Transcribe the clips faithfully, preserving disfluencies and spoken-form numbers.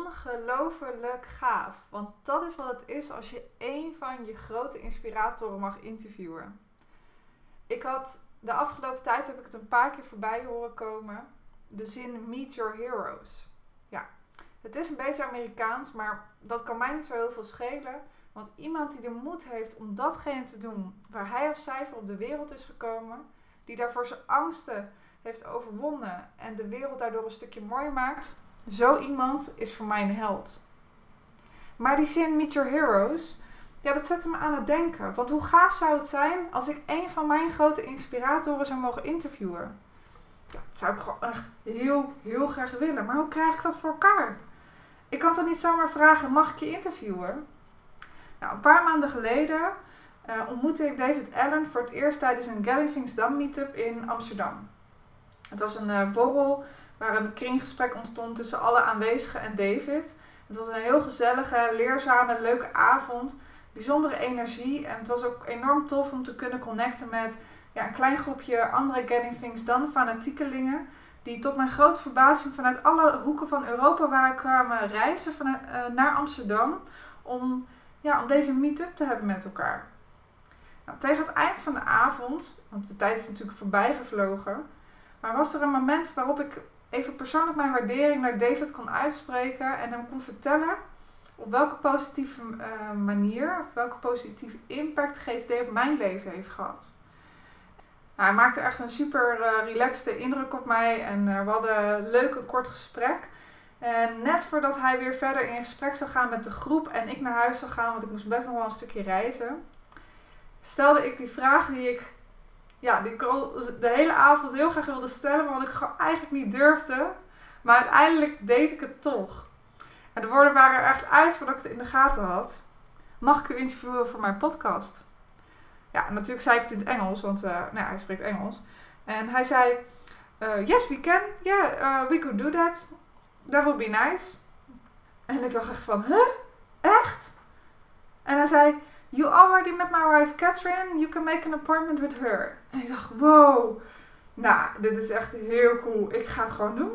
ongelooflijk gaaf. Want dat is wat het is als je één van je grote inspiratoren mag interviewen. Ik had de afgelopen tijd, heb ik het een paar keer voorbij horen komen, de zin Meet Your Heroes. Ja, het is een beetje Amerikaans, maar dat kan mij niet zo heel veel schelen. Want iemand die de moed heeft om datgene te doen waar hij of zij voor op de wereld is gekomen, die daarvoor zijn angsten heeft overwonnen en de wereld daardoor een stukje mooier maakt, zo iemand is voor mij een held. Maar die zin Meet Your Heroes, ja, dat zette me aan het denken. Want hoe gaaf zou het zijn als ik een van mijn grote inspiratoren zou mogen interviewen? Ja, dat zou ik gewoon echt heel, heel graag willen. Maar hoe krijg ik dat voor elkaar? Ik kan toch niet zomaar vragen, mag ik je interviewen? Nou, een paar maanden geleden uh, ontmoette ik David Allen voor het eerst tijdens een Getting Things Done meetup in Amsterdam. Het was een uh, borrel waar een kringgesprek ontstond tussen alle aanwezigen en David. Het was een heel gezellige, leerzame, leuke avond. Bijzondere energie. En het was ook enorm tof om te kunnen connecten met ja, een klein groepje andere Getting Things Done fanatiekelingen. Die tot mijn grote verbazing vanuit alle hoeken van Europa waren kwamen reizen vanuit, uh, naar Amsterdam. Om, ja, om deze meet-up te hebben met elkaar. Nou, tegen het eind van de avond, want de tijd is natuurlijk voorbij gevlogen. Maar was er een moment waarop ik even persoonlijk mijn waardering naar David kon uitspreken. En hem kon vertellen op welke positieve uh, manier, of welke positieve impact G T D op mijn leven heeft gehad. Nou, hij maakte echt een super uh, relaxte indruk op mij en uh, we hadden een leuk en kort gesprek. En net voordat hij weer verder in gesprek zou gaan met de groep en ik naar huis zou gaan, want ik moest best nog wel een stukje reizen, stelde ik die vraag die ik, ja, die ik al de hele avond heel graag wilde stellen, maar wat ik gewoon eigenlijk niet durfde. Maar uiteindelijk deed ik het toch. En de woorden waren er echt uit voordat ik het in de gaten had. Mag ik u interviewen voor mijn podcast? Ja, natuurlijk zei ik het in het Engels, want uh, nou, hij spreekt Engels. En hij zei, uh, yes we can, yeah, uh, we could do that. That would be nice. En ik dacht echt van, huh? Echt? En hij zei, you already met my wife Catherine, you can make an appointment with her. En ik dacht, wow, nou, dit is echt heel cool. Ik ga het gewoon doen.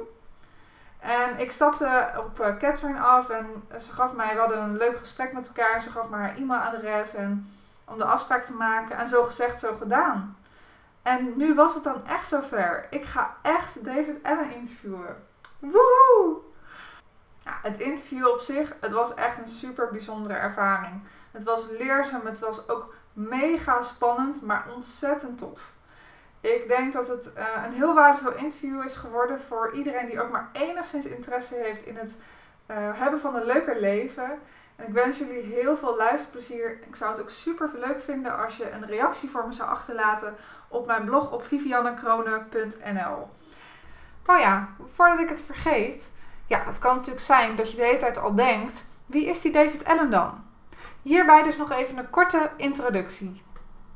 En ik stapte op uh, Catherine af en ze gaf mij, we hadden een leuk gesprek met elkaar. Ze gaf me haar e-mailadres en om de afspraak te maken. En zo gezegd, zo gedaan. En nu was het dan echt zover. Ik ga echt David Allen interviewen. Woehoe! Ja, het interview op zich, het was echt een super bijzondere ervaring. Het was leerzaam, het was ook mega spannend, maar ontzettend tof. Ik denk dat het uh, een heel waardevol interview is geworden voor iedereen die ook maar enigszins interesse heeft in het uh, hebben van een leuker leven. En ik wens jullie heel veel luisterplezier. Ik zou het ook super leuk vinden als je een reactie voor me zou achterlaten op mijn blog op viviannekrone punt n l. Nou ja, voordat ik het vergeet. Ja, het kan natuurlijk zijn dat je de hele tijd al denkt, wie is die David Allen dan? Hierbij dus nog even een korte introductie.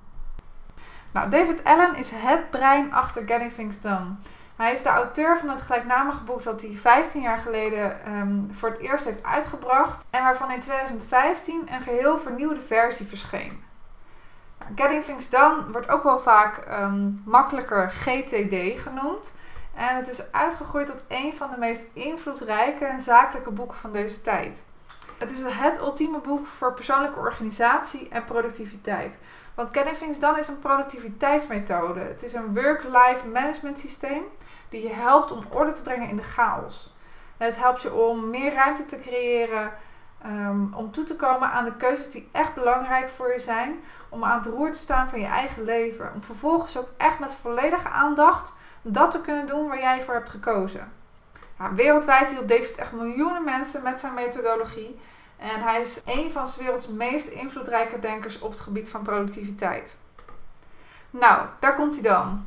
Nou, David Allen is het brein achter Getting Things Done. Hij is de auteur van het gelijknamige boek dat hij vijftien jaar geleden um, voor het eerst heeft uitgebracht. En waarvan in twintig vijftien een geheel vernieuwde versie verscheen. Nou, Getting Things Done wordt ook wel vaak um, makkelijker G T D genoemd. En het is uitgegroeid tot een van de meest invloedrijke en zakelijke boeken van deze tijd. Het is het ultieme boek voor persoonlijke organisatie en productiviteit. Want Getting Things Done is een productiviteitsmethode. Het is een work-life management systeem die je helpt om orde te brengen in de chaos. Het helpt je om meer ruimte te creëren, um, om toe te komen aan de keuzes die echt belangrijk voor je zijn. Om aan het roer te staan van je eigen leven. Om vervolgens ook echt met volledige aandacht dat te kunnen doen waar jij voor hebt gekozen. Ja, wereldwijd hielp David echt miljoenen mensen met zijn methodologie. En hij is een van 's werelds meest invloedrijke denkers op het gebied van productiviteit. Nou, daar komt hij dan.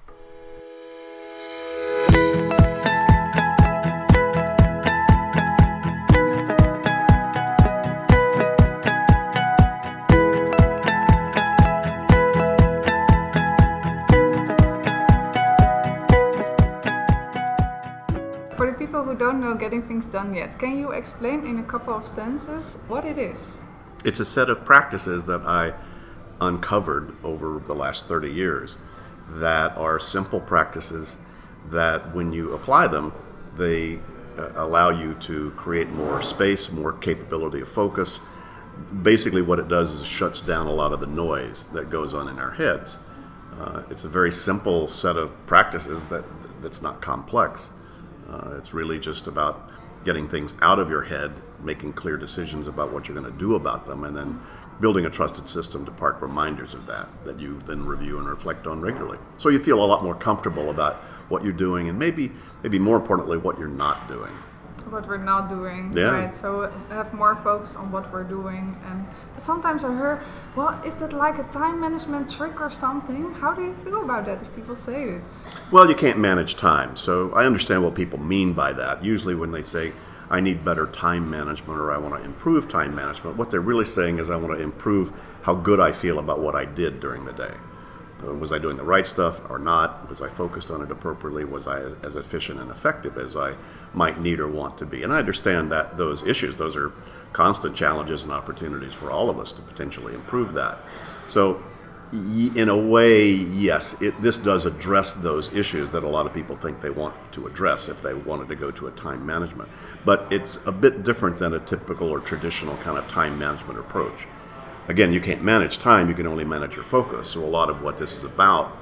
For the people who don't know Getting Things Done yet, can you explain in a couple of sentences what it is? It's a set of practices that I uncovered over the last thirty years that are simple practices that when you apply them, they uh, allow you to create more space, more capability of focus. Basically what it does is it shuts down a lot of the noise that goes on in our heads. Uh, it's a very simple set of practices that that's not complex. Uh, it's really just about getting things out of your head, making clear decisions about what you're going to do about them, and then building a trusted system to park reminders of that, that you then review and reflect on regularly. So you feel a lot more comfortable about what you're doing, and maybe, maybe more importantly, what you're not doing. What we're not doing, yeah. right? So have more focus on what we're doing. And sometimes I hear, well, is that like a time management trick or something? How do you feel about that if people say it? Well, you can't manage time. So I understand what people mean by that. Usually when they say, I need better time management or I want to improve time management, what they're really saying is I want to improve how good I feel about what I did during the day. Uh, was I doing the right stuff or not? Was I focused on it appropriately? Was I as efficient and effective as I might need or want to be? And I understand that those issues, those are constant challenges and opportunities for all of us to potentially improve that. So y- in a way, yes, it, this does address those issues that a lot of people think they want to address if they wanted to go to a time management. But it's a bit different than a typical or traditional kind of time management approach. Again, you can't manage time, you can only manage your focus. So a lot of what this is about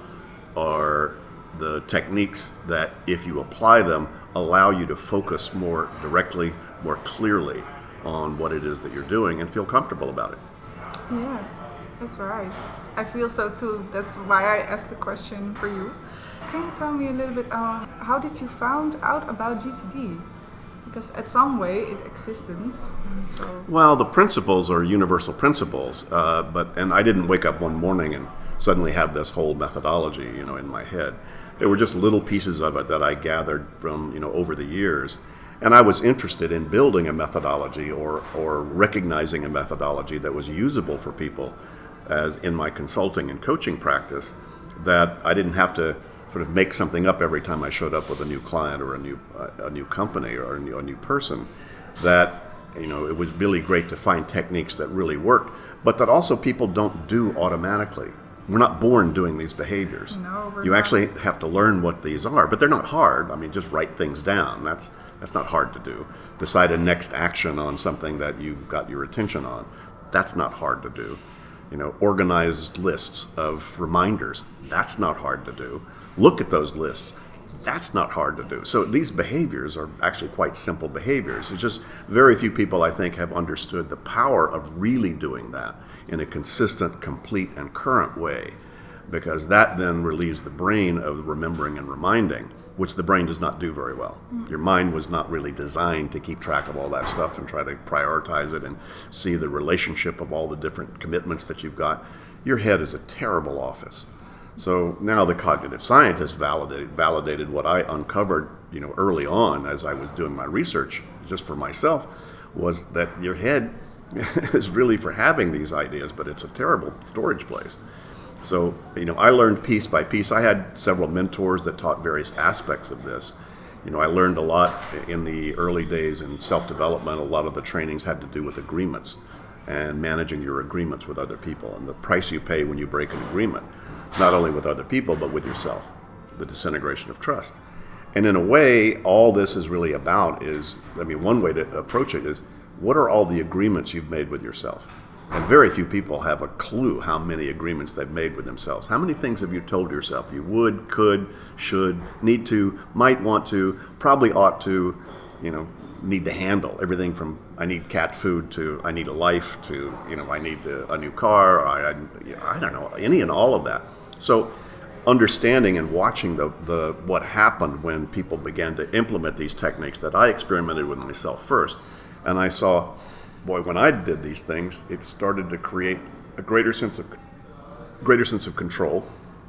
are the techniques that, if you apply them, allow you to focus more directly, more clearly on what it is that you're doing and feel comfortable about it. Yeah, that's right. I feel so too. That's why I asked the question for you. Can you tell me a little bit, uh, how did you find out about G T D? Because at some way it existed. And so. Well, the principles are universal principles, uh, but and I didn't wake up one morning and suddenly have this whole methodology, you know, in my head. There were just little pieces of it that I gathered from, you know, over the years, and I was interested in building a methodology or or recognizing a methodology that was usable for people, as in my consulting and coaching practice, that I didn't have to sort of make something up every time I showed up with a new client or a new uh, a new company or a new, a new person. That, you know, it was really great to find techniques that really worked, but that also people don't do automatically. We're not born doing these behaviors. No, we're you not. actually have to learn what these are, but they're not hard. I mean, just write things down. That's that's not hard to do. Decide a next action on something that you've got your attention on. That's not hard to do. You know, organize lists of reminders. That's not hard to do. Look at those lists. That's not hard to do. So these behaviors are actually quite simple behaviors. It's just very few people, I think, have understood the power of really doing that in a consistent, complete, and current way, because that then relieves the brain of remembering and reminding, which the brain does not do very well. Mm. Your mind was not really designed to keep track of all that stuff and try to prioritize it and see the relationship of all the different commitments that you've got. Your head is a terrible office. So now the cognitive scientists validated validated what I uncovered, you know, early on as I was doing my research just for myself, was that your head is really for having these ideas, but it's a terrible storage place. So, you know, I learned piece by piece. I had several mentors that taught various aspects of this. You know, I learned a lot in the early days in self-development. A lot of the trainings had to do with agreements and managing your agreements with other people and the price you pay when you break an agreement, not only with other people, but with yourself, the disintegration of trust. And in a way, all this is really about is, I mean, one way to approach it is, what are all the agreements you've made with yourself? And very few people have a clue how many agreements they've made with themselves. How many things have you told yourself you would, could, should, need to, might want to, probably ought to, you know, need to handle? Everything from I need cat food to I need a life to, you know, I need a, a new car, or I, I, I don't know, any and all of that. So understanding and watching the, the what happened when people began to implement these techniques that I experimented with myself first, and I saw, boy, when I did these things, it started to create a greater sense of greater sense of control.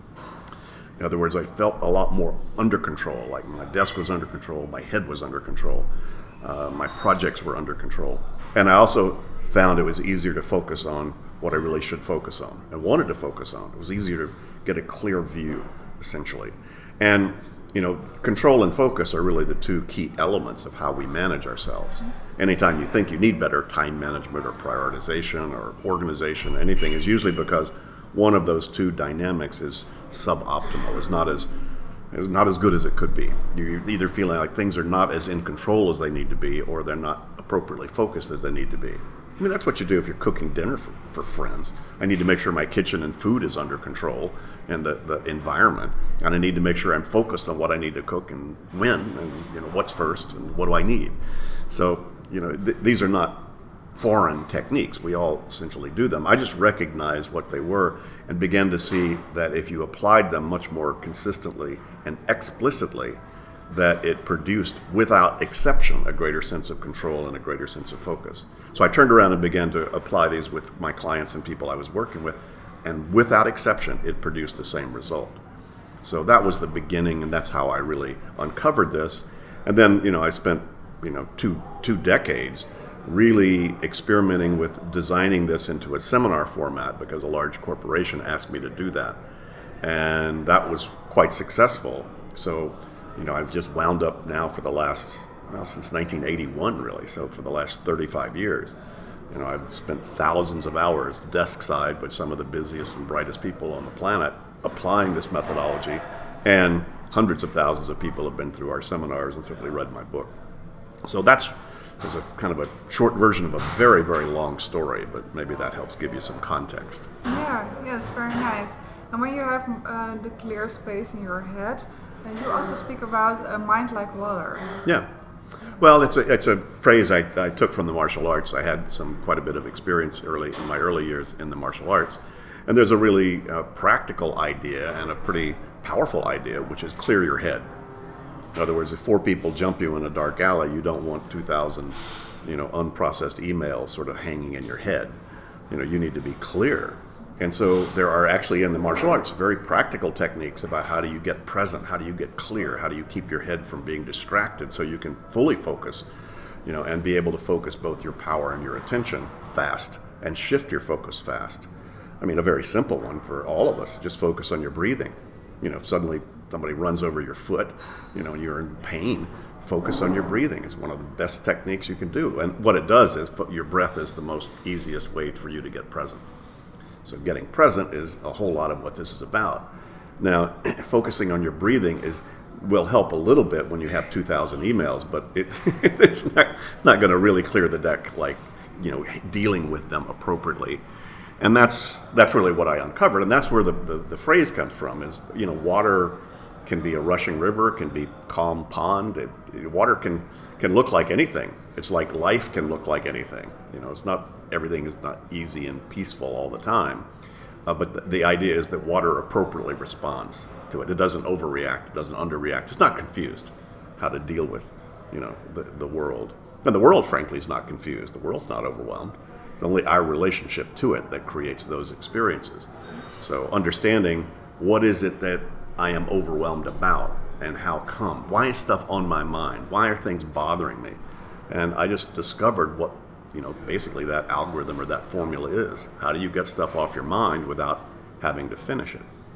In other words, I felt a lot more under control. Like my desk was under control, my head was under control, uh, my projects were under control, and I also found it was easier to focus on what I really should focus on and wanted to focus on. It was easier to get a clear view, essentially. And, you know, control and focus are really the two key elements of how we manage ourselves. Anytime you think you need better time management or prioritization or organization, anything, is usually because one of those two dynamics is suboptimal, is not as It's not as good as it could be. You're either feeling like things are not as in control as they need to be, or they're not appropriately focused as they need to be. I mean, that's what you do if you're cooking dinner for, for friends. I need to make sure my kitchen and food is under control and the, the environment. And I need to make sure I'm focused on what I need to cook and when and, you know, what's first and what do I need. So, you know, th- these are not foreign techniques. We all essentially do them. I just recognized what they were and began to see that if you applied them much more consistently and explicitly, that it produced, without exception, a greater sense of control and a greater sense of focus. So I turned around and began to apply these with my clients and people I was working with, and without exception, it produced the same result. So that was the beginning, and that's how I really uncovered this. And then, you know, I spent, you know, two two decades really experimenting with designing this into a seminar format, because a large corporation asked me to do that. And that was quite successful. So, you know, I've just wound up now for the last, well, since nineteen eighty-one, really. So for the last thirty-five years, you know, I've spent thousands of hours desk side with some of the busiest and brightest people on the planet applying this methodology. And hundreds of thousands of people have been through our seminars and certainly read my book. So that's, that's a kind of a short version of a very, very long story, but maybe that helps give you some context. Yeah, yeah, it's very nice. And when you have uh, the clear space in your head, and you also speak about a mind like water. Yeah. Well, it's a, it's a phrase I, I took from the martial arts. I had some quite a bit of experience early in my early years in the martial arts. And there's a really uh, practical idea and a pretty powerful idea, which is clear your head. In other words, if four people jump you in a dark alley, you don't want two thousand, you know, unprocessed emails sort of hanging in your head. You know, you need to be clear. And so there are actually in the martial arts very practical techniques about how do you get present, how do you get clear, how do you keep your head from being distracted so you can fully focus, you know, and be able to focus both your power and your attention fast and shift your focus fast. I mean, a very simple one for all of us, just focus on your breathing. You know, if suddenly somebody runs over your foot, you know, and you're in pain, focus on your breathing. It's one of the best techniques you can do. And what it does is your breath is the most easiest way for you to get present. So getting present is a whole lot of what this is about. Now, focusing on your breathing is will help a little bit when you have two thousand emails, but it, it's not it's not going to really clear the deck like, you know, dealing with them appropriately. And that's that's really what I uncovered, and that's where the, the, the phrase comes from. Is, you know, water can be a rushing river, can be calm pond. It, water can can look like anything. It's like life can look like anything. You know, it's not everything is not easy and peaceful all the time. Uh, but the, the idea is that water appropriately responds to it. It doesn't overreact. It doesn't underreact. It's not confused how to deal with, you know, the, the world. And the world, frankly, is not confused. The world's not overwhelmed. It's only our relationship to it that creates those experiences. So understanding what is it that I am overwhelmed about and how come? Why is stuff on my mind? Why are things bothering me? And I just discovered what, you know, basically that algorithm or that formula is. How do you get stuff off your mind without having to finish it?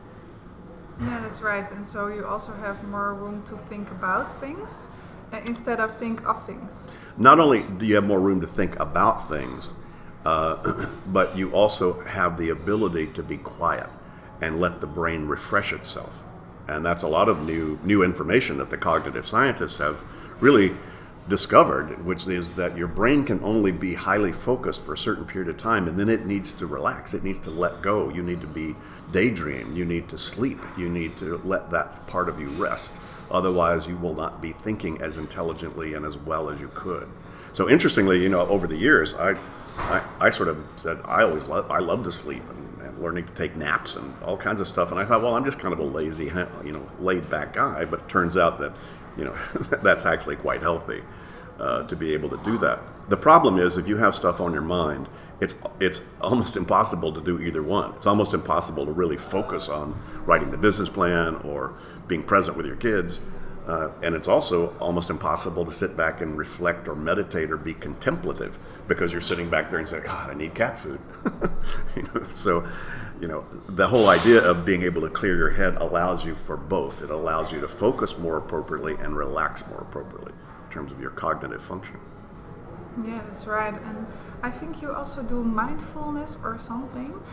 Yeah, that's right. And so you also have more room to think about things uh, instead of think of things. Not only do you have more room to think about things, uh, but you also have the ability to be quiet and let the brain refresh itself. And that's a lot of new new information that the cognitive scientists have really discovered, which is that your brain can only be highly focused for a certain period of time, and then it needs to relax. It needs to let go. You need to be daydream. You need to sleep. You need to let that part of you rest. Otherwise, you will not be thinking as intelligently and as well as you could. So interestingly, you know, over the years, I I, I sort of said, I always love, I love to sleep and, and learning to take naps and all kinds of stuff. And I thought, well, I'm just kind of a lazy, you know, laid back guy. But it turns out that, you know, that's actually quite healthy uh, to be able to do that. The problem is if you have stuff on your mind, it's it's almost impossible to do either one. It's almost impossible to really focus on writing the business plan or being present with your kids. Uh, and it's also almost impossible to sit back and reflect or meditate or be contemplative because you're sitting back there and saying, God, I need cat food. you know, so, you know, the whole idea of being able to clear your head allows you for both. It allows you to focus more appropriately and relax more appropriately in terms of your cognitive function. Yeah, that's right. And I think you also do mindfulness or something.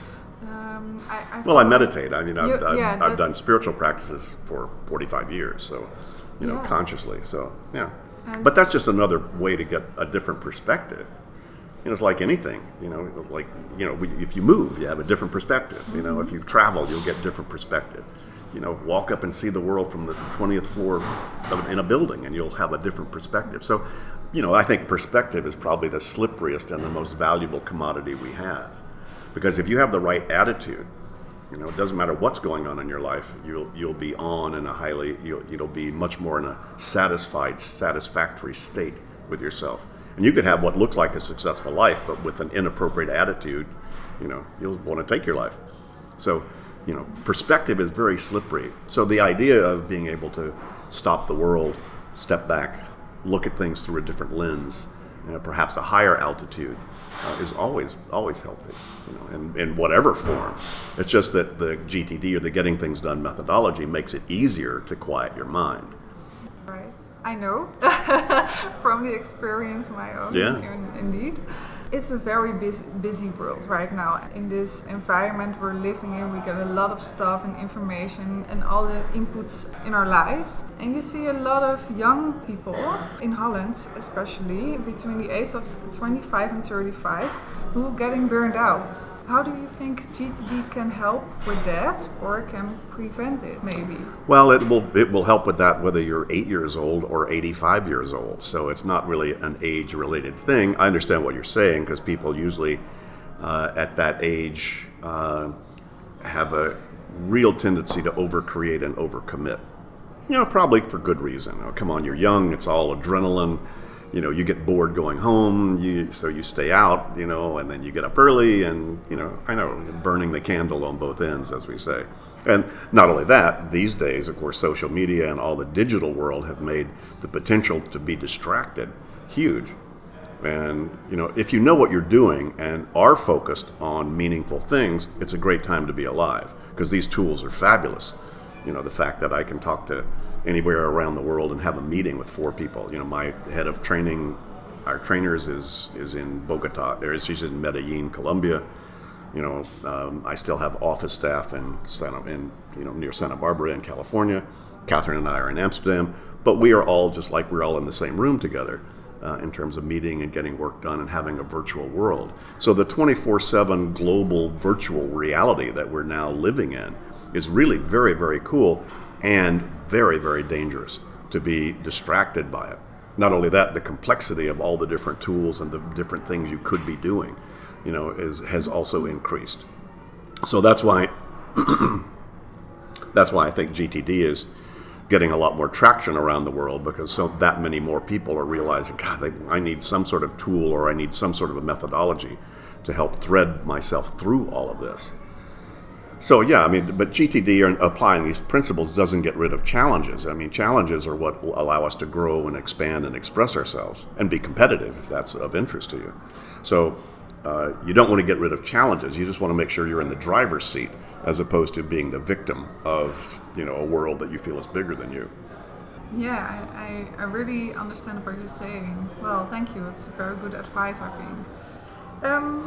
Um, I, I Well, I meditate. I mean, I've, You- I've, yeah, I've that- done spiritual practices for forty-five years, so, you know, Yeah. consciously. So, yeah. And- But that's just another way to get a different perspective. You know, it's like anything. You know, like, you know, if you move, you have a different perspective. You know, if you travel, you'll get different perspective. You know, walk up and see the world from the twentieth floor of, in a building, and you'll have a different perspective. So, you know, I think perspective is probably the slipperiest and the most valuable commodity we have. Because if you have the right attitude, you know, it doesn't matter what's going on in your life, you'll you'll be on in a highly, you'll, you'll be much more in a satisfied, satisfactory state with yourself. And you could have what looks like a successful life, but with an inappropriate attitude, you know, you'll want to take your life. So, you know, perspective is very slippery. So the idea of being able to stop the world, step back, look at things through a different lens, you know, perhaps a higher altitude, uh, is always always healthy, you know, in, in whatever form. It's just that the G T D, or the Getting Things Done methodology, makes it easier to quiet your mind. Right. I know from the experience of my own. Yeah. in- Indeed. It's a very busy, busy world right now. In this environment we're living in, we get a lot of stuff and information and all the inputs in our lives. And you see a lot of young people, in Holland especially, between the age of twenty-five and thirty-five, who are getting burned out. How do you think G T D can help with that, or can prevent it, maybe? Well, it will it will help with that whether you're eight years old or eighty-five years old. So it's not really an age-related thing. I understand what you're saying, because people usually uh, at that age uh, have a real tendency to overcreate and overcommit. You know, probably for good reason. Oh, come on, you're young. It's all adrenaline. You know, you get bored going home, you, so you stay out, you know, and then you get up early and, you know, I know, burning the candle on both ends, as we say. And not only that, these days, of course, social media and all the digital world have made the potential to be distracted huge. And, you know, if you know what you're doing and are focused on meaningful things, it's a great time to be alive, because these tools are fabulous. You know, the fact that I can talk to anywhere around the world and have a meeting with four people. You know, my head of training, our trainers is is in Bogota, or she's in Medellin, Colombia. You know, um, I still have office staff in Santa, in you know near Santa Barbara in California. Catherine and I are in Amsterdam, but we are all just like we're all in the same room together uh, in terms of meeting and getting work done and having a virtual world. So the twenty-four seven global virtual reality that we're now living in is really very, very cool. And very, very dangerous to be distracted by it. Not only that, the complexity of all the different tools and the different things you could be doing, you know, is has also increased. So that's why that's why I think G T D is getting a lot more traction around the world, because so that many more people are realizing, God, they, I need some sort of tool, or I need some sort of a methodology to help thread myself through all of this. So yeah, I mean, but G T D and applying these principles doesn't get rid of challenges. I mean, challenges are what will allow us to grow and expand and express ourselves and be competitive, if that's of interest to you. So uh, you don't want to get rid of challenges. You just want to make sure you're in the driver's seat, as opposed to being the victim of, you know, a world that you feel is bigger than you. Yeah, I, I, I really understand what you're saying. Well, thank you. It's very good advice, I think. Um,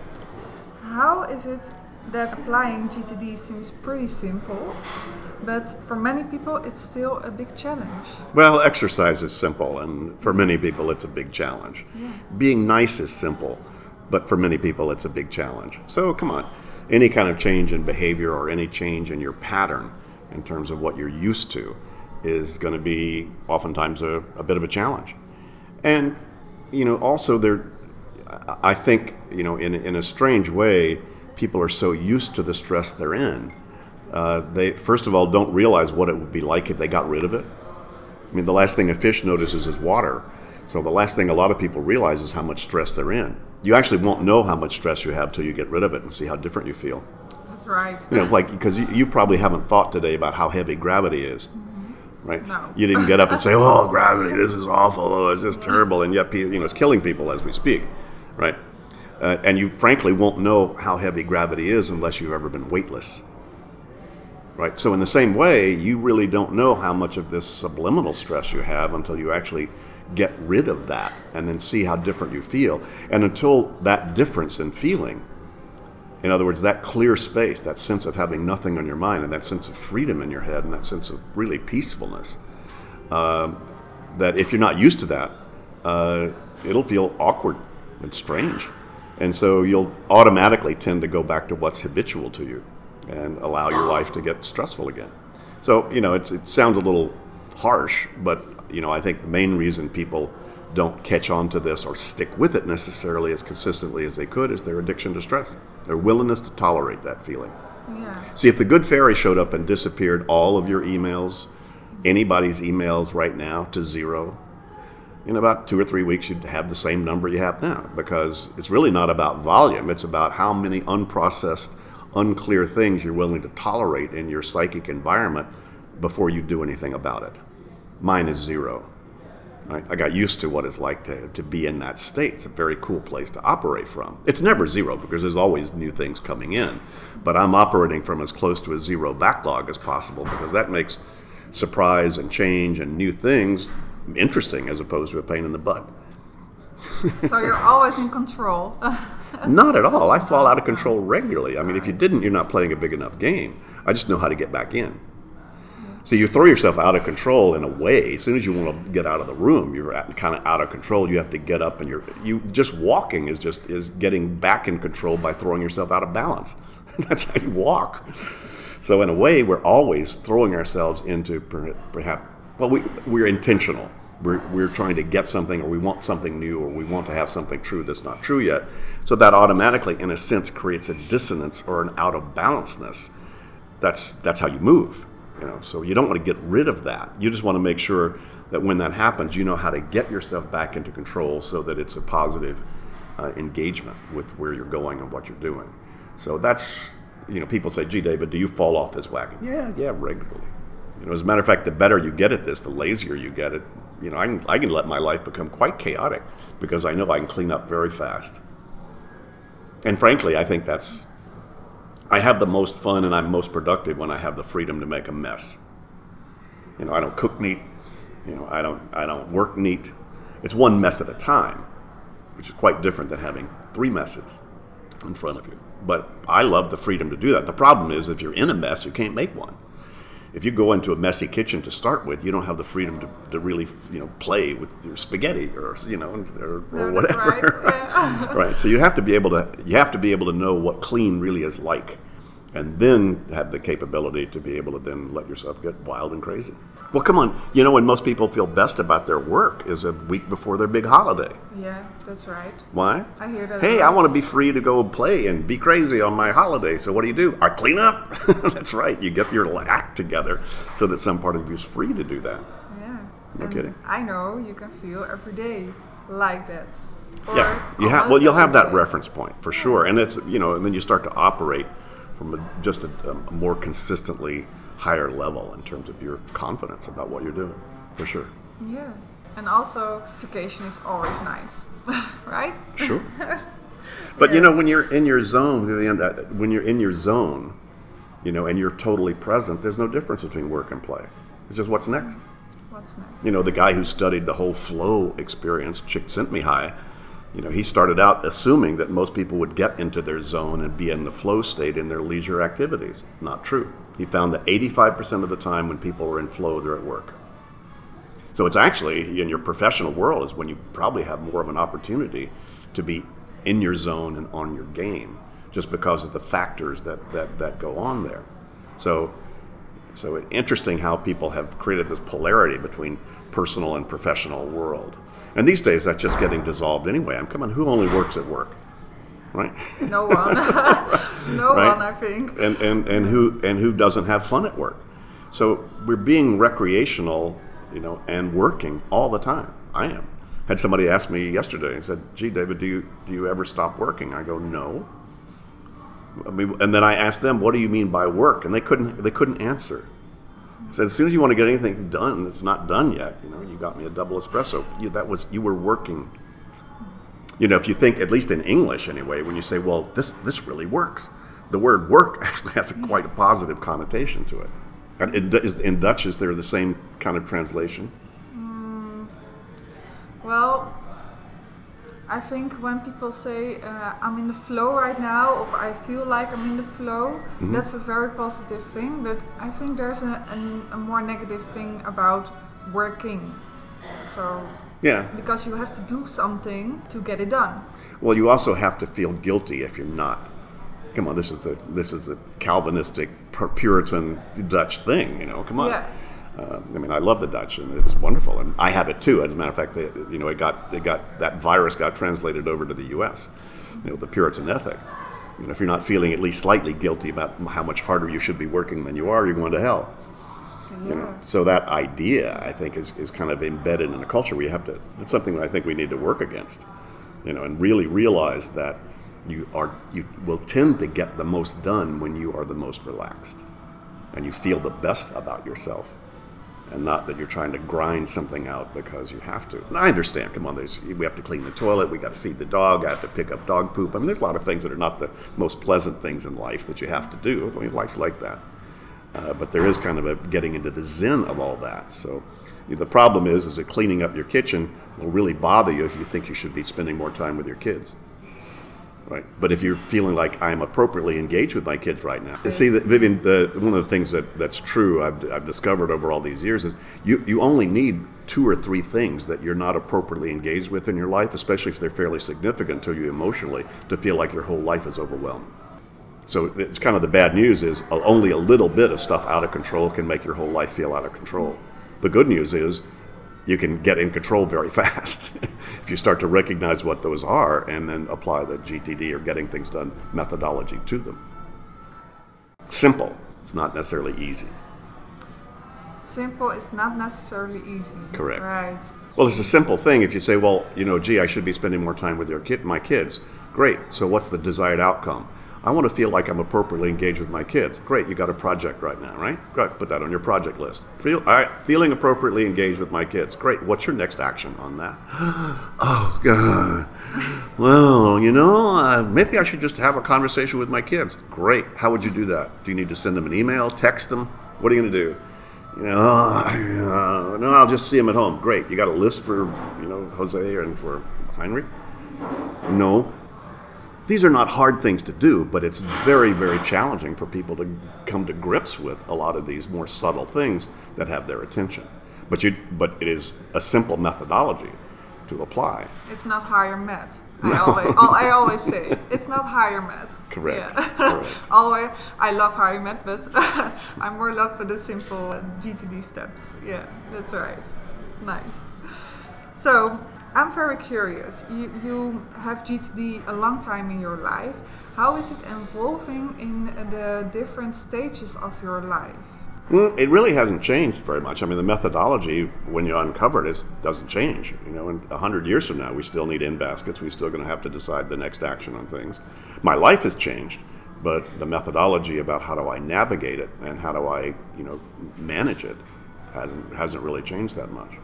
how is it that applying G T D seems pretty simple, but for many people it's still a big challenge? Well, exercise is simple, and for many people it's a big challenge. Yeah. Being nice is simple, but for many people it's a big challenge. So come on, any kind of change in behavior or any change in your pattern in terms of what you're used to is going to be oftentimes a, a bit of a challenge. And, you know, also there, I think, you know, in, in a strange way, people are so used to the stress they're in, uh, they, first of all, don't realize what it would be like if they got rid of it. I mean, the last thing a fish notices is water. So the last thing a lot of people realize is how much stress they're in. You actually won't know how much stress you have till you get rid of it and see how different you feel. That's right. You know, it's like, because you, you probably haven't thought today about how heavy gravity is, mm-hmm. right? No. You didn't get up and say, oh, gravity, this is awful, oh, it's just terrible, and yet, you know, it's killing people as we speak, right? Uh, and you frankly won't know how heavy gravity is unless you've ever been weightless, right? So in the same way, you really don't know how much of this subliminal stress you have until you actually get rid of that and then see how different you feel. And until that difference in feeling In other words, that clear space, that sense of having nothing on your mind, and that sense of freedom in your head, and that sense of really peacefulness, uh, that if you're not used to that, uh, it'll feel awkward and strange. And so you'll automatically tend to go back to what's habitual to you and allow your life to get stressful again. So, you know, it's, it sounds a little harsh, but, you know, I think the main reason people don't catch on to this or stick with it necessarily as consistently as they could is their addiction to stress, their willingness to tolerate that feeling. Yeah. See, if the good fairy showed up and disappeared all of your emails, anybody's emails right now to zero, in about two or three weeks you'd have the same number you have now, because it's really not about volume, it's about how many unprocessed, unclear things you're willing to tolerate in your psychic environment before you do anything about it. Mine is zero. Right? I got used to what it's like to, to be in that state. It's a very cool place to operate from. It's never zero because there's always new things coming in, but I'm operating from as close to a zero backlog as possible because that makes surprise and change and new things interesting as opposed to a pain in the butt. So you're always in control. Not at all. I fall out of control regularly. I mean, if you didn't, you're not playing a big enough game. I just know how to get back in. So you throw yourself out of control in a way. As soon as you want to get out of the room, you're kind of out of control. You have to get up, and you're you just walking is just is getting back in control by throwing yourself out of balance. That's how you walk. So in a way, we're always throwing ourselves into perhaps well, we we're intentional. We're we're trying to get something, or we want something new, or we want to have something true that's not true yet. So that automatically, in a sense, creates a dissonance or an out of balanceness. That's that's how you move. You know, so you don't want to get rid of that. You just want to make sure that when that happens, you know how to get yourself back into control so that it's a positive uh, engagement with where you're going and what you're doing. So that's, you know, people say, gee, David, do you fall off this wagon? Yeah, yeah, regularly. You know, as a matter of fact, the better you get at this, the lazier you get it. You know, I can, I can let my life become quite chaotic because I know I can clean up very fast. And frankly, I think that's, I have the most fun and I'm most productive when I have the freedom to make a mess. You know, I don't cook neat. You know, I don't I don't work neat. It's one mess at a time, which is quite different than having three messes in front of you. But I love the freedom to do that. The problem is if you're in a mess, you can't make one. If you go into a messy kitchen to start with, you don't have the freedom to, to really, you know, play with your spaghetti or, you know, or, or No, whatever. that's right. Yeah. Right. So you have to be able to you have to be able to know what clean really is like, and then have the capability to be able to then let yourself get wild and crazy. Well, come on. You know, when most people feel best about their work is a week before their big holiday. Yeah, that's right. Why? I hear that. Hey, a I lot. want to be free to go play and be crazy on my holiday. So what do you do? I clean up. That's right. You get your act together so that some part of you is free to do that. Yeah. No And kidding. I know you can feel every day like that. Or Yeah, you have. almost Well, you'll have every that day. reference point for sure, and it's you know, and then you start to operate from a, just a, a more consistently higher level in terms of your confidence about what you're doing, for sure. Yeah. And also, vacation is always nice, right? Sure. But you know, when you're in your zone, when you're in your zone, you know, and you're totally present, there's no difference between work and play. It's just what's next. What's next? You know, the guy who studied the whole flow experience, Csikszentmihalyi, you know, he started out assuming that most people would get into their zone and be in the flow state in their leisure activities. Not true. He found that eighty-five percent of the time when people are in flow, they're at work. So it's actually, in your professional world, is when you probably have more of an opportunity to be in your zone and on your game, just because of the factors that, that, that go on there. So, so interesting how people have created this polarity between personal and professional world. And these days, that's just getting dissolved anyway. I'm coming, who only works at work? Right? No one. no Right? one, I think. And, and, and who and who doesn't have fun at work? So we're being recreational, you know, and working all the time. I am. Had somebody ask me yesterday and said, "Gee, David, do you do you ever stop working?" I go, "No." I mean, and then I asked them, "What do you mean by work?" And they couldn't they couldn't answer. I said, "As soon as you want to get anything done that's not done yet, you know, you got me a double espresso. You, that was you were working." You know, if you think, at least in English anyway, when you say, "Well, this this really works," the word "work" actually has a, quite a positive connotation to it. And in, is- in Dutch, is there the same kind of translation? Well, I think when people say uh, I'm in the flow right now, or I feel like I'm in the flow, mm-hmm. that's a very positive thing. But I think there's a, a, a more negative thing about working. So yeah, because you have to do something to get it done. Well, you also have to feel guilty if you're not. Come on, this is a this is a Calvinistic Puritan Dutch thing. You know, come on. Yeah. Uh, I mean, I love the Dutch, and it's wonderful, and I have it too. As a matter of fact, they, you know, it got it got that virus got translated over to the U S. You know, the Puritan ethic. You know, if you're not feeling at least slightly guilty about how much harder you should be working than you are, you're going to hell. Yeah. You know, so that idea, I think, is, is kind of embedded in a culture. We have to. It's something that I think we need to work against. You know, and really realize that you are you will tend to get the most done when you are the most relaxed, and you feel the best about yourself. And not that you're trying to grind something out because you have to. And I understand, come on, there's, we have to clean the toilet, we got to feed the dog, I have to pick up dog poop. I mean, there's a lot of things that are not the most pleasant things in life that you have to do. I mean, life's like that. Uh, but there is kind of a getting into the zen of all that. So the problem is, is that cleaning up your kitchen will really bother you if you think you should be spending more time with your kids. Right, but if you're feeling like I'm appropriately engaged with my kids right now, see that Vivian, the, one of the things that, that's true I've, I've discovered over all these years is you, you only need two or three things that you're not appropriately engaged with in your life, especially if they're fairly significant to you emotionally, to feel like your whole life is overwhelmed. So it's kind of the bad news is only a little bit of stuff out of control can make your whole life feel out of control. The good news is you can get in control very fast if you start to recognize what those are and then apply the G T D or getting things done methodology to them. Simple. It's not necessarily easy. Simple is not necessarily easy. Correct. Right. Well, it's a simple thing. If you say, well, you know, gee, I should be spending more time with your kid, my kids. Great. So what's the desired outcome? I want to feel like I'm appropriately engaged with my kids. Great, you got a project right now, right? Great, put that on your project list. Feel, all right, feeling appropriately engaged with my kids. Great, what's your next action on that? Oh, God. Well, you know, uh, maybe I should just have a conversation with my kids. Great, how would you do that? Do you need to send them an email, text them? What are you going to do? You know, uh, no, I'll just see them at home. Great, you got a list for, you know, Jose and for Heinrich? No. These are not hard things to do, but it's very, very challenging for people to come to grips with a lot of these more subtle things that have their attention. But you, but it is a simple methodology to apply. It's not higher math. I no. always, I always say it's not higher math. Correct. Yeah. Correct. always, I love higher math, but I'm more love for the simple G T D steps. Yeah, that's right. Nice. So. I'm very curious. You, you have G T D a long time in your life. How is it evolving in the different stages of your life? Mm, it really hasn't changed very much. I mean, the methodology, when you uncover it, is, doesn't change. You know, in a hundred years from now, we still need in baskets. We're still going to have to decide the next action on things. My life has changed, but the methodology about how do I navigate it and how do I, you know, manage it hasn't hasn't really changed that much.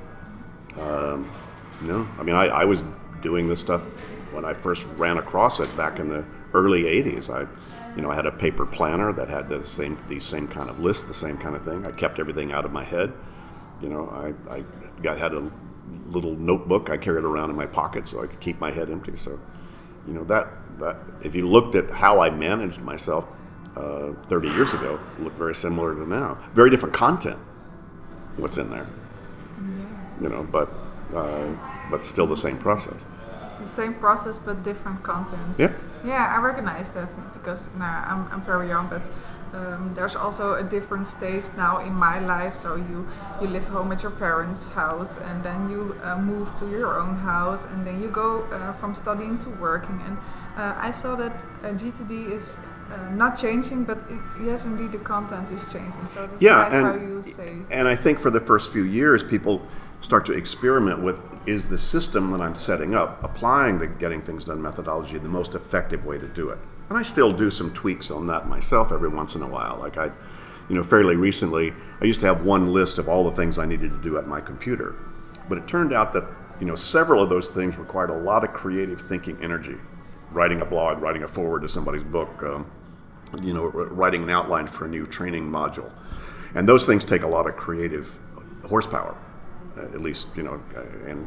Um, No, I mean, I, I was doing this stuff when I first ran across it back in the early eighties. I, you know, I had a paper planner that had the same, these same kind of lists, the same kind of thing. I kept everything out of my head. You know, I, I got had a little notebook I carried around in my pocket so I could keep my head empty. So, you know, that that if you looked at how I managed myself uh, thirty years ago, it looked very similar to now. Very different content. What's in there? Yeah. You know, but. Uh, but still the same process. The same process, but different contents. Yeah. Yeah, I recognize that because nah, I'm I'm very young, but um, there's also a different stage now in my life. So you you live home at your parents' house, and then you uh, move to your own house, and then you go uh, from studying to working. And uh, I saw that uh, G T D is uh, not changing, but it, yes, indeed, the content is changing. So that's yeah, nice and, how you say. And I think for the first few years, people start to experiment with, is the system that I'm setting up, applying the getting things done methodology, the most effective way to do it? And I still do some tweaks on that myself every once in a while. Like I, you know, fairly recently, I used to have one list of all the things I needed to do at my computer. But it turned out that, you know, several of those things required a lot of creative thinking energy. Writing a blog, writing a foreword to somebody's book, um, you know, writing an outline for a new training module. And those things take a lot of creative horsepower. Uh, at least, you know, and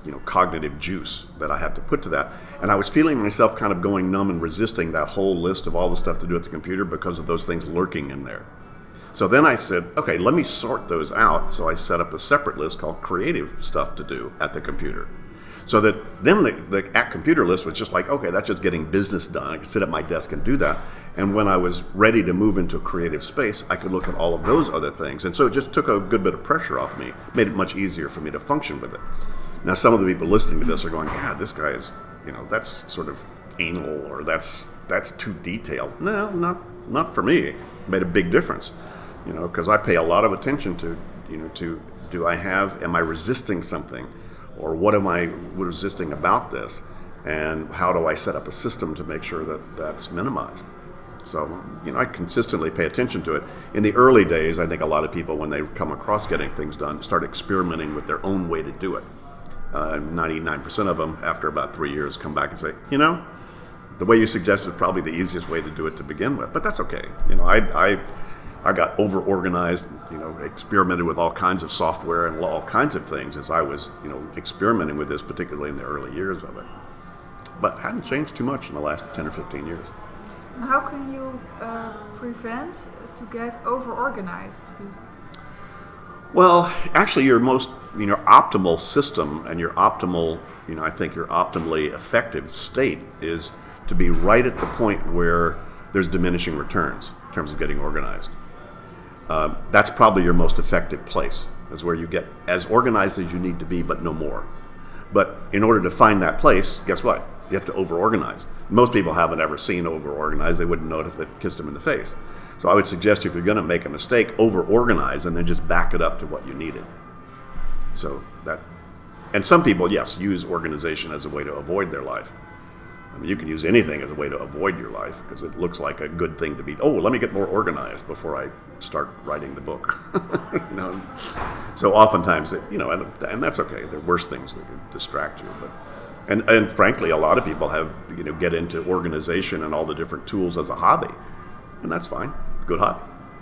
you know, cognitive juice that I had to put to that. And I was feeling myself kind of going numb and resisting that whole list of all the stuff to do at the computer because of those things lurking in there. So then I said, okay, let me sort those out. So I set up a separate list called creative stuff to do at the computer. So that then the, the at computer list was just like, okay, that's just getting business done. I could sit at my desk and do that. And when I was ready to move into a creative space, I could look at all of those other things. And so it just took a good bit of pressure off me, made it much easier for me to function with it. Now, some of the people listening to this are going, God, this guy is, you know, that's sort of anal, or that's that's too detailed. No, not not for me. It made a big difference, you know, because I pay a lot of attention to, you know, to do I have, am I resisting something? Or what am I resisting about this? And how do I set up a system to make sure that that's minimized? So, you know, I consistently pay attention to it. In the early days, I think a lot of people, when they come across getting things done, start experimenting with their own way to do it. Uh, ninety-nine percent of them, after about three years, come back and say, you know, the way you suggested is probably the easiest way to do it to begin with. But that's okay. You know, I I, I got over-organized, you know, experimented with all kinds of software and all kinds of things as I was, you know, experimenting with this, particularly in the early years of it. But hadn't changed too much in the last ten or fifteen years. How can you uh, prevent to get over-organized? Well, actually, your most, you know, optimal system and your optimal, you know, I think your optimally effective state is to be right at the point where there's diminishing returns in terms of getting organized. Um, that's probably your most effective place, is where you get as organized as you need to be, but no more. But in order to find that place, guess what? You have to over-organize. Most people haven't ever seen over-organized. They wouldn't know it if they kissed them in the face. So I would suggest if you're going to make a mistake, over-organize and then just back it up to what you needed. So that, and some people, yes, use organization as a way to avoid their life. I mean, you can use anything as a way to avoid your life because it looks like a good thing to be, oh, let me get more organized before I start writing the book. You know? So oftentimes, it, you know, and, and that's okay. There are worse things that could distract you. But and, and frankly, a lot of people have, you know, get into organization and all the different tools as a hobby. And that's fine. Good hobby.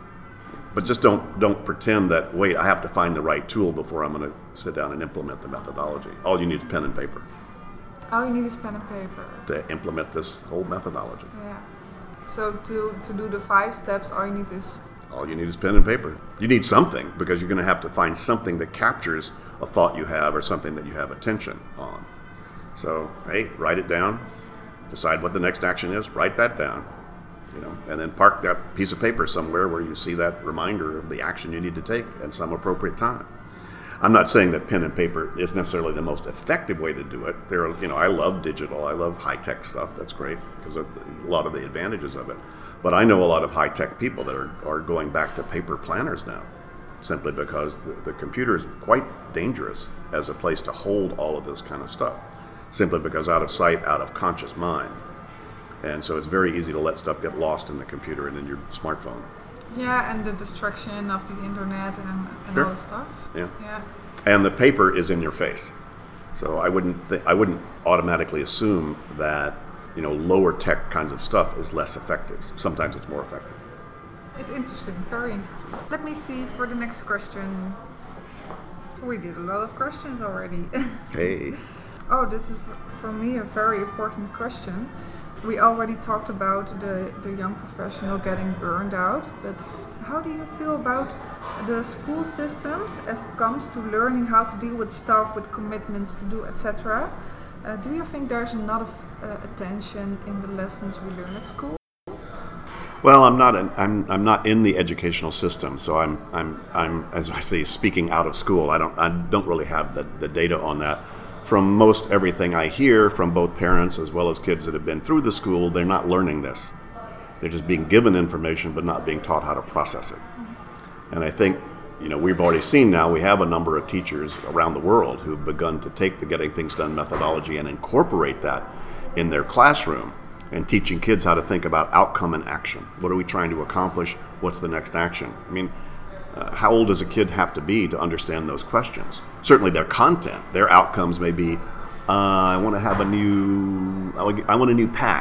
But just don't don't pretend that, wait, I have to find the right tool before I'm going to sit down and implement the methodology. All you need is pen and paper. All you need is pen and paper. To implement this whole methodology. Yeah. So to, to do the five steps, all you need is... All you need is pen and paper. You need something, because you're going to have to find something that captures a thought you have or something that you have attention on. So, hey, write it down. Decide what the next action is. Write that down. You know, and then park that piece of paper somewhere where you see that reminder of the action you need to take at some appropriate time. I'm not saying that pen and paper is necessarily the most effective way to do it. There are, you know, I love digital. I love high-tech stuff. That's great because of the, a lot of the advantages of it. But I know a lot of high-tech people that are, are going back to paper planners now, simply because the, the computer is quite dangerous as a place to hold all of this kind of stuff, simply because out of sight, out of conscious mind. And so it's very easy to let stuff get lost in the computer and in your smartphone. Yeah, and the distraction of the internet and, and Sure. all the stuff. Yeah. Yeah. And the paper is in your face. So I wouldn't th- I wouldn't automatically assume that, you know, lower tech kinds of stuff is less effective. Sometimes it's more effective. It's interesting, very interesting. Let me see for the next question. We did a lot of questions already. Hey. Oh, this is for me a very important question. We already talked about the, the young professional getting burned out, but how do you feel about the school systems as it comes to learning how to deal with staff, with commitments to do, et cetera? Uh, do you think there's enough uh, attention in the lessons we learn at school? Well, I'm not an, I'm I'm not in the educational system, so I'm I'm I'm as I say speaking out of school. I don't I don't really have the, the data on that. From most everything I hear from both parents as well as kids that have been through the school, they're not learning this. They're just being given information but not being taught how to process it. Mm-hmm. And I think, you know, we've already seen now, we have a number of teachers around the world who've begun to take the Getting Things Done methodology and incorporate that in their classroom and teaching kids how to think about outcome and action. What are we trying to accomplish? What's the next action? I mean, Uh, how old does a kid have to be to understand those questions? Certainly their content, their outcomes may be, uh, I want to have a new, I want a new pack,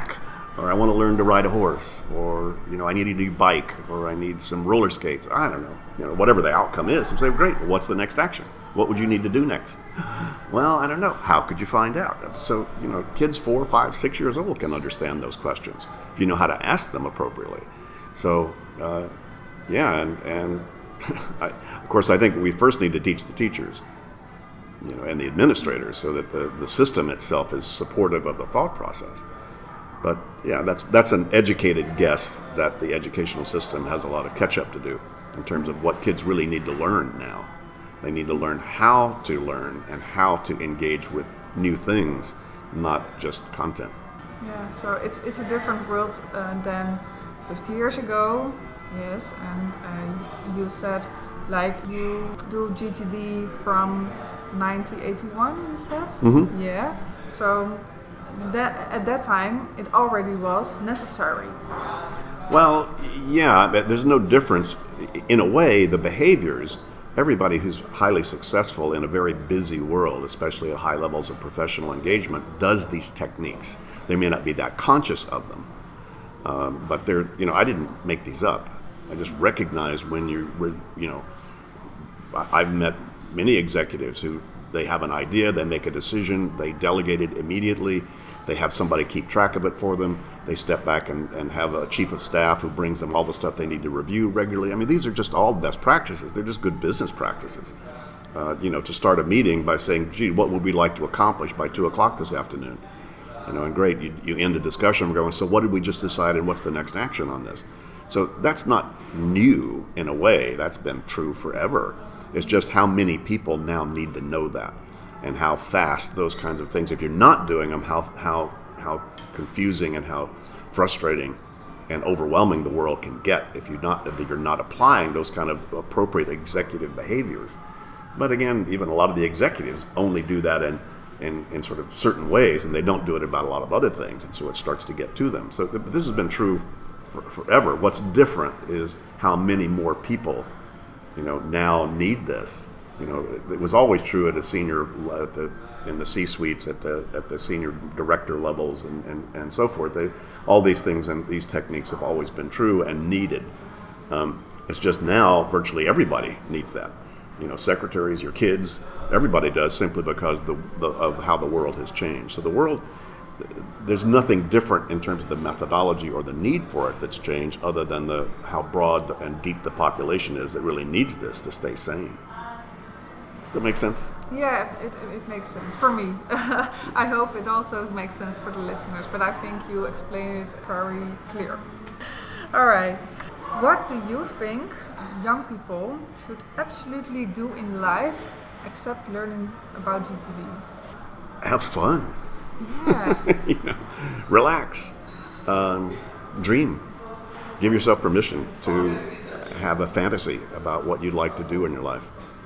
or I want to learn to ride a horse, or, you know, I need a new bike, or I need some roller skates. I don't know, you know, whatever the outcome is. And say, great, well, what's the next action? What would you need to do next? Well, I don't know. How could you find out? So, you know, kids four, five, six years old can understand those questions if you know how to ask them appropriately. So, uh, yeah, and, and I, of course, I think we first need to teach the teachers, you know, and the administrators, so that the, the system itself is supportive of the thought process. But yeah, that's that's an educated guess that the educational system has a lot of catch up to do in terms of what kids really need to learn now. They need to learn how to learn and how to engage with new things, not just content. Yeah, so it's it's a different world uh, than fifty years ago. Yes, and uh, you said like you do G T D from nineteen eighty-one, you said? Mm-hmm. Yeah. So that at that time it already was necessary. Well, yeah, but there's no difference. In a way, the behaviors, everybody who's highly successful in a very busy world, especially at high levels of professional engagement, does these techniques. They may not be that conscious of them, um, but they're, you know, I didn't make these up. I just recognize when you're, you know, I've met many executives who, they have an idea, they make a decision, they delegate it immediately, they have somebody keep track of it for them, they step back and, and have a chief of staff who brings them all the stuff they need to review regularly. I mean, these are just all best practices. They're just good business practices. Uh, you know, to start a meeting by saying, gee, what would we like to accomplish by two o'clock this afternoon? You know, and great, you, you end a discussion, we're going, so what did we just decide and what's the next action on this? So that's not new in a way, that's been true forever. It's just how many people now need to know that, and how fast those kinds of things, if you're not doing them, how how how confusing and how frustrating and overwhelming the world can get if you're not if you're not applying those kind of appropriate executive behaviors. But again, even a lot of the executives only do that in in, in sort of certain ways, and they don't do it about a lot of other things, and so it starts to get to them. So th- this has been true for, forever. What's different is how many more people, you know, now need this. You know, it, it was always true at a senior, at the, in the C-suites, at the at the senior director levels, and, and, and so forth. They, all these things and these techniques have always been true and needed. Um, it's just now virtually everybody needs that. You know, secretaries, your kids, everybody does, simply because the, the of how the world has changed. So the world, there's nothing different in terms of the methodology or the need for it that's changed, other than the how broad and deep the population is that really needs this to stay sane. Does that make sense? Yeah, it, it makes sense for me. I hope it also makes sense for the listeners, but I think you explained it very clear. All right. What do you think young people should absolutely do in life except learning about G T D? Have fun. Yeah. You know, relax. Um, dream. Give yourself permission to have a fantasy about what you'd like to do in your life.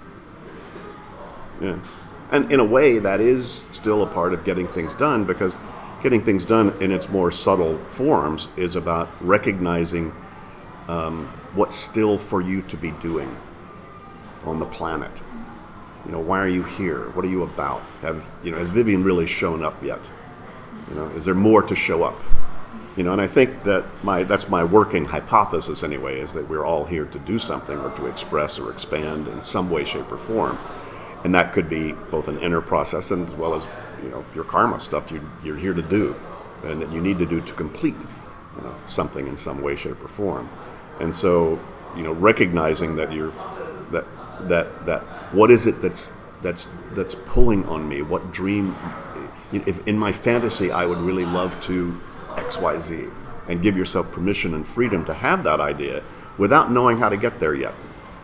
Yeah. And in a way, that is still a part of getting things done, because getting things done in its more subtle forms is about recognizing um, what's still for you to be doing on the planet. You know, why are you here? What are you about? Have, you know, has Vivian really shown up yet? You know, is there more to show up? You know, and I think that my that's my working hypothesis anyway, is that we're all here to do something, or to express or expand in some way, shape, or form. And that could be both an inner process, and as well as, you know, your karma stuff you, you're here to do, and that you need to do to complete, you know, something in some way, shape, or form. And so, you know, recognizing that you're that that that what is it that's that's that's pulling on me? What dream? If in my fantasy I would really love to X Y Z, and give yourself permission and freedom to have that idea without knowing how to get there yet.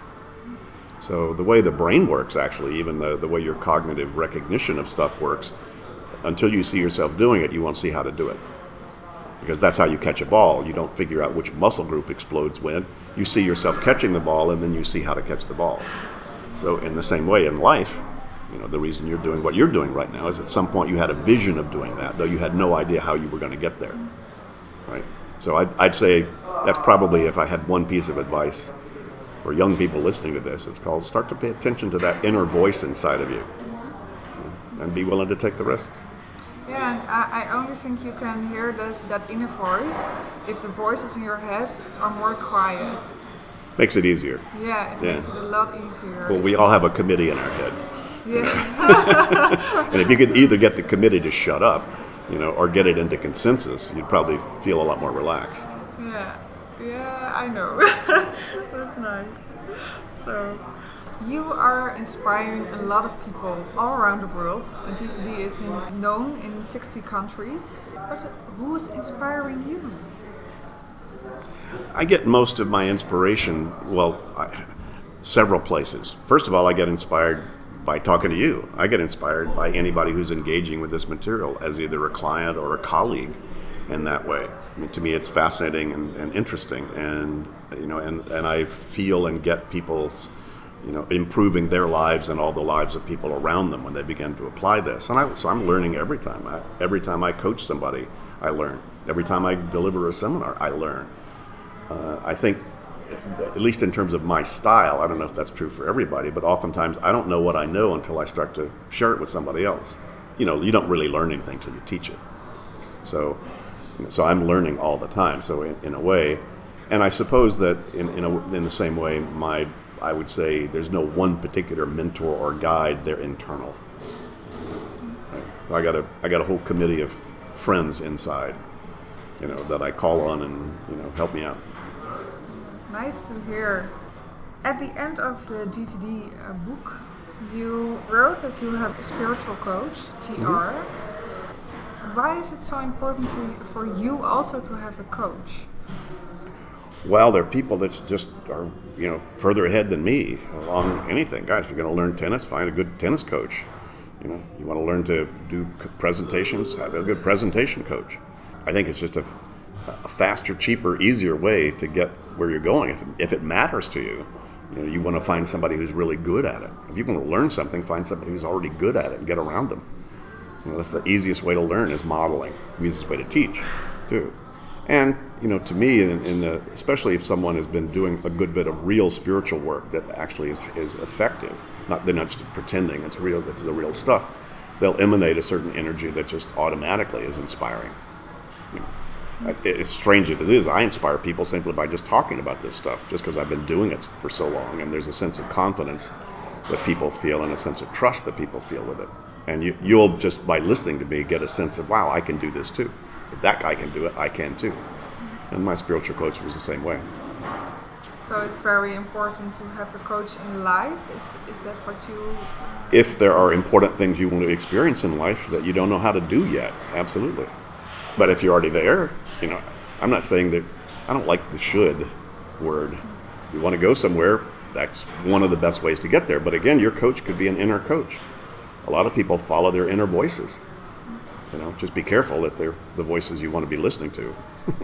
So the way the brain works, actually, even the, the way your cognitive recognition of stuff works, until you see yourself doing it, you won't see how to do it. Because that's how you catch a ball. You don't figure out which muscle group explodes when. You see yourself catching the ball, and then you see how to catch the ball. So in the same way in life, you know, the reason you're doing what you're doing right now is at some point you had a vision of doing that, though you had no idea how you were going to get there. Right? So I'd, I'd say that's probably, if I had one piece of advice for young people listening to this, it's called start to pay attention to that inner voice inside of you, and be willing to take the risks. Yeah, and I, I only think you can hear that, that inner voice if the voices in your head are more quiet. Makes it easier. Yeah, it Yeah. makes it a lot easier. Well, we all have a committee in our head. Yeah. And if you could either get the committee to shut up, you know, or get it into consensus, you'd probably feel a lot more relaxed. Yeah, yeah, I know. That's nice. So, you are inspiring a lot of people all around the world. G T D is in, known in sixty countries. But who is inspiring you? I get most of my inspiration, well, I, several places. First of all, I get inspired by talking to you. I get inspired by anybody who's engaging with this material as either a client or a colleague in that way. I mean, to me, it's fascinating and, and interesting, and you know, and, and I feel and get people's, you know, improving their lives and all the lives of people around them when they begin to apply this. And I, so I'm learning every time. I, every time I coach somebody, I learn. Every time I deliver a seminar, I learn. Uh, I think, at least in terms of my style, I don't know if that's true for everybody, but oftentimes I don't know what I know until I start to share it with somebody else. You know, you don't really learn anything till you teach it. So, you know, so I'm learning all the time. So in, in a way, and I suppose that in in, a, in the same way, my I would say there's no one particular mentor or guide. They're internal. Right? I got a I got a whole committee of friends inside, you know, that I call on and you know help me out. Nice to hear. At the end of the G T D uh, book, you wrote that you have a spiritual coach, G R. Mm-hmm. Why is it so important to, for you also to have a coach? Well, there are people that just are, you know, further ahead than me along anything. Guys, if you're going to learn tennis, find a good tennis coach. You know, you want to learn to do presentations, have a good presentation coach. I think it's just a, a faster, cheaper, easier way to get where you're going. If, if it matters to you, you know, you want to find somebody who's really good at it. If you want to learn something, find somebody who's already good at it and get around them. You know, that's the easiest way to learn is modeling. The easiest way to teach, too. And, you know, to me, in, in the, especially if someone has been doing a good bit of real spiritual work that actually is, is effective, not they're not just pretending it's real, it's the real stuff, they'll emanate a certain energy that just automatically is inspiring. You know, it, as strange as it is, I inspire people simply by just talking about this stuff, just because I've been doing it for so long, and there's a sense of confidence that people feel and a sense of trust that people feel with it. And you, you'll just, by listening to me, get a sense of, wow, I can do this too. If that guy can do it, I can too. And my spiritual coach was the same way. So it's very important to have a coach in life? Is, is that what you... If there are important things you want to experience in life that you don't know how to do yet, absolutely. But if you're already there, you know, I'm not saying that, I don't like the should word. If you want to go somewhere, that's one of the best ways to get there. But again, your coach could be an inner coach. A lot of people follow their inner voices. You know, just be careful that they're the voices you want to be listening to.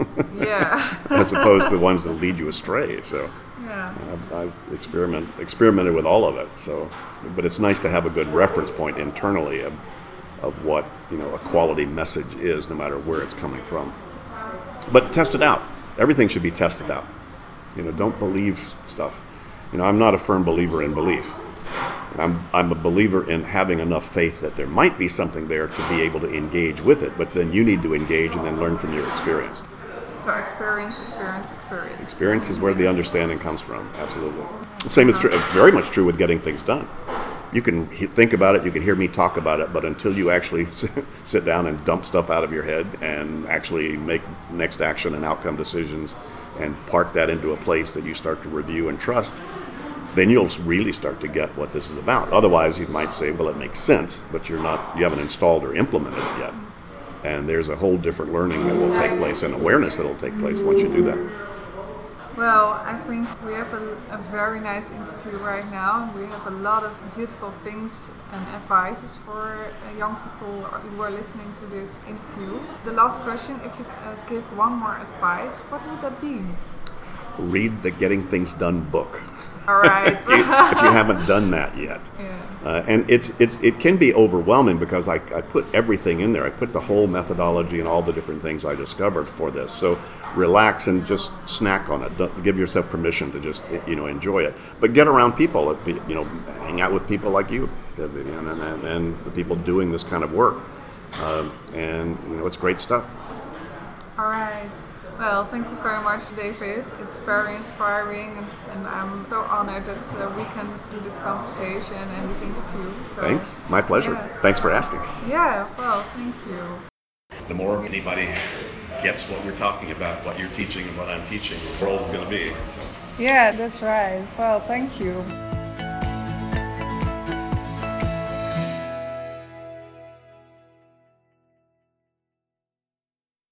Yeah. As opposed to the ones that lead you astray. So yeah. I've, I've experiment, experimented with all of it. So, but it's nice to have a good reference point internally of of what, you know, a quality message is, no matter where it's coming from. But test it out. Everything should be tested out. You know, don't believe stuff. You know, I'm not a firm believer in belief. I'm I'm a believer in having enough faith that there might be something there to be able to engage with it, but then you need to engage and then learn from your experience. So experience, experience, experience. Experience is where the understanding comes from, absolutely. The same is true, very much true with getting things done. You can he- think about it, you can hear me talk about it, but until you actually sit down and dump stuff out of your head and actually make next action and outcome decisions and park that into a place that you start to review and trust, then you'll really start to get what this is about. Otherwise, you might say, well, it makes sense, but you're not, you haven't installed or implemented it yet. And there's a whole different learning that will take place and awareness that will take place once you do that. Well, I think we have a, a very nice interview right now. We have a lot of beautiful things and advices for uh, young people who are listening to this interview. The last question, if you uh, give one more advice, what would that be? Read the Getting Things Done book. All right. if, you, if you haven't done that yet. Yeah. Uh, and it's it's it can be overwhelming because I, I put everything in there. I put the whole methodology and all the different things I discovered for this. So relax and just snack on it. Don't, give yourself permission to just, you know, enjoy it. But get around people, you know, hang out with people like you and, and, and the people doing this kind of work. Um, and you know, it's great stuff. All right. Well, thank you very much, David. It's very inspiring, and, and I'm so honored that uh, we can do this conversation and this interview. So, Thanks. My pleasure. Yeah. Thanks for asking. Yeah, well, thank you. The more anybody gets what we're talking about, what you're teaching and what I'm teaching, the world is going to be. So. Yeah, that's right. Well, thank you.